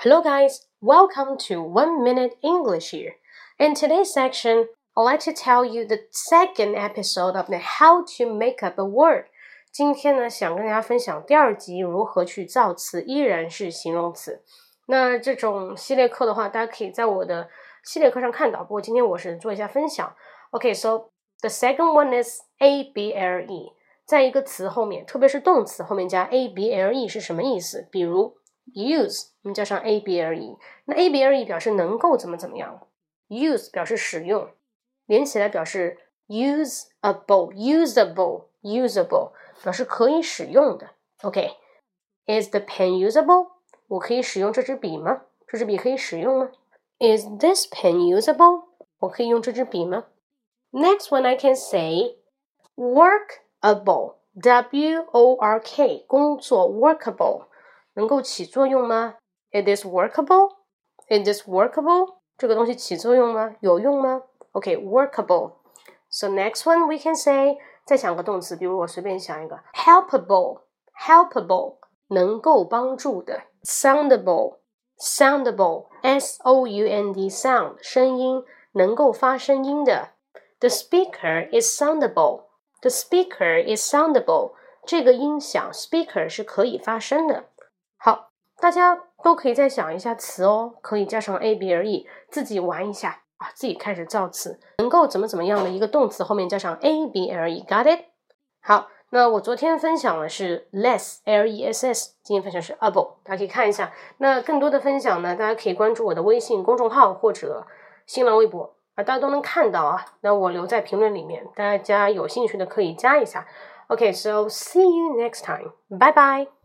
Hello guys, welcome to 1 Minute English here. In today's section, I'd like to tell you the second episode of the How to Make Up a Word. 今天呢，想跟大家分享第二集如何去造词，依然是形容词。那这种系列课的话，大家可以在我的系列课上看到，不过今天我是做一下分享。Okay, so the second one is able. 在一个词后面，特别是动词后面加 able 是什么意思？比如 use 我们加上 able， 那 able 表示能够怎么样， use 表示使用，连起来表示 usable 表示可以使用的。 OK, is the pen usable? 我可以使用这支笔吗？这支笔可以使用吗？ Is this pen usable? 我可以用这支笔吗？ Next one I can say workable, W-O-R-K 工作 workable 能够起作用吗？ It is workable? It is workable? 这个东西起作用吗？有用吗？ OK, workable. So next one we can say 再想个动词，比如我随便想一个 helpable 能够帮助的 soundable S-O-U-N-D sound 声音能够发声音的 The speaker is soundable 这个音响 speaker 是可以发声的。好，大家都可以再想一下词哦，可以加上 able 自己玩一下啊，自己开始造词，能够怎么样的一个动词后面加上 able, got it? 好，那我昨天分享的是 less, L-E-S-S 今天分享是 able 大家可以看一下。那更多的分享呢，大家可以关注我的微信公众号或者新浪微博大家都能看到啊，那我留在评论里面，大家有兴趣的可以加一下。Okay, so see you next time. Bye bye.